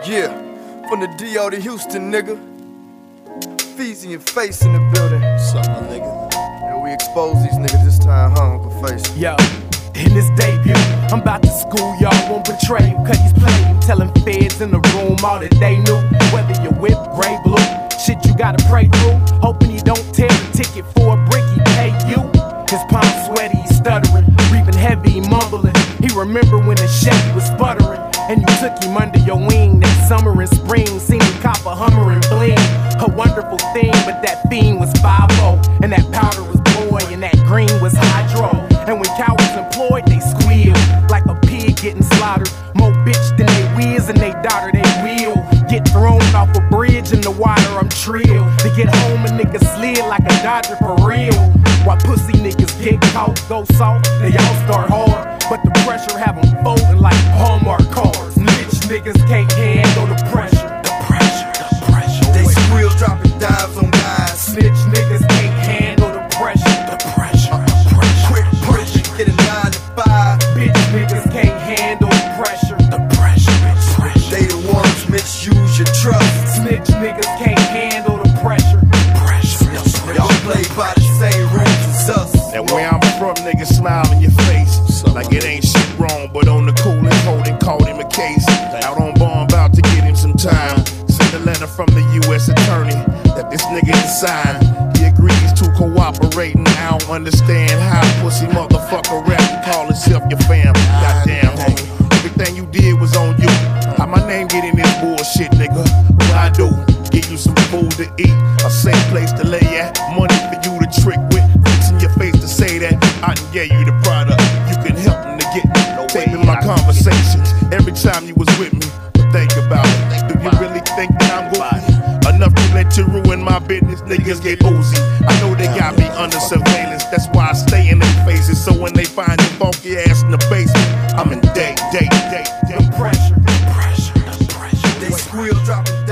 Yeah, from the D.O. to Houston, nigga. Feezy and Face in the building. What's up, my nigga? And we expose these niggas this time, huh, Uncle Face? Yo, in this debut, I'm about to school y'all, won't betray you, cause he's playing. Telling feds in the room all that they knew. Whether you're whip, gray, blue, shit you gotta pray through. Hoping he don't tear the ticket for a brick, he pay you. His palms sweaty, he's stuttering, breathing heavy, he mumbling. He remember when the Chevy was sputtering, and you took him under your wing that summer and spring. Seen him cop a Hummer and bling, a wonderful thing, but that fiend was 5-0, and that powder was boy, and that green was hydro. And when cowards employed, they squeal like a pig getting slaughtered. More bitch than they whiz and they daughter, they will get thrown off a bridge in the water. I'm trill to get home, a nigga slid like a Dodger for real. While pussy niggas get caught, go soft, they all start hard, but the pressure have them folding like Hallmark cars. Bitch niggas can't handle the pressure. The pressure, the pressure. They squeal dropping dives on guys. Snitch niggas can't handle the pressure. The pressure, the pressure. Quick push, get a 9 to 5. Bitch niggas can't handle the pressure. The pressure, the pressure. They the ones misuse your trust. Snitch niggas can't handle the pressure. Pressure, the pressure. Y'all play by the same rules as us. And where I'm from, niggas smile in your face like it ain't shit wrong, but on the cool and holding, called him a case. Out on bond, about to get him some time. Send a letter from the U.S. attorney that this nigga is signed. He agrees to cooperate, and I don't understand how pussy motherfucker rap and call himself your fam. Goddamn, homie, everything you did was on you. How my name get in this bullshit, nigga? What I do? Give you some food to eat, a safe place to lay at, money for you to trick with, fixing your face to say that I done gave you the product. You can help them to get taping my conversations every time you was with me. But think about it. Do you really think that I'm goofy enough to let you ruin my business? Niggas get oozy. I know they got me under surveillance. That's why I stay in their faces. So when they find your funky ass in the basement, I'm in day. The pressure, the pressure, the pressure. They squeal dropping